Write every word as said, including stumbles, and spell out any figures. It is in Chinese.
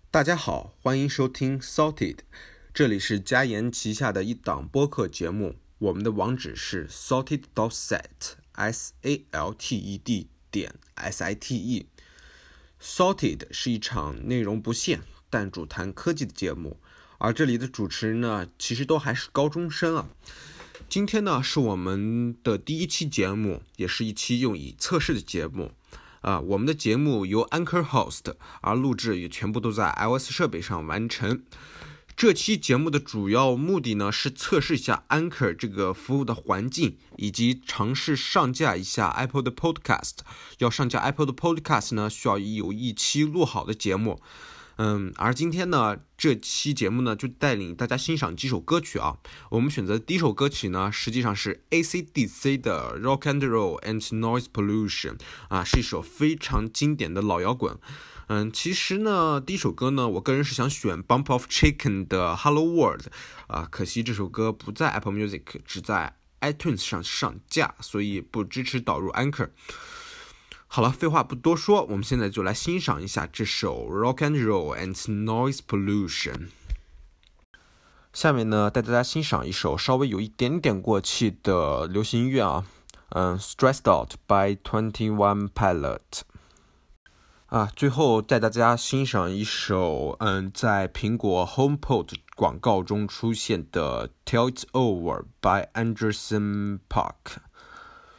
大家好，欢迎收听 Salted， 这里是嘉言旗下的一档播客节目，我们的网址是 salted dot set s a l t e d 点 s i t e。 Salted 是一场内容不限但主谈科技的节目，而这里的主持人呢，其实都还是高中生啊。今天呢，是我们的第一期节目，也是一期用以测试的节目。啊，我们的节目由 Anchor host， 而录制也全部都在 iOS 设备上完成。这期节目的主要目的呢，是测试一下 Anchor 这个服务的环境，以及尝试上架一下 Apple 的 Podcast。要上架 Apple 的 Podcast 呢，需要有一期录好的节目。嗯，而今天呢，这期节目呢，就带领大家欣赏几首歌曲啊。我们选择的第一首歌曲呢，实际上是 A C D C 的 Rock and Roll and Noise Pollution 啊，是一首非常经典的老摇滚。嗯，其实呢，第一首歌呢，我个人是想选 Bump of Chicken 的 Hello World 啊，可惜这首歌不在 Apple Music， 只在 iTunes 上上架，所以不支持导入 Anchor。好了，废话不多说，我们现在就来欣赏一下这首 Rock and Roll and Noise Pollution。下面呢，带大家欣赏一首稍微有一点点过气的流行音乐啊，嗯 ，Stressed Out by Twenty One Pilot。啊，最后带大家欣赏一首，嗯，在苹果 HomePod 广告中出现的 Till It's Over by Anderson Park。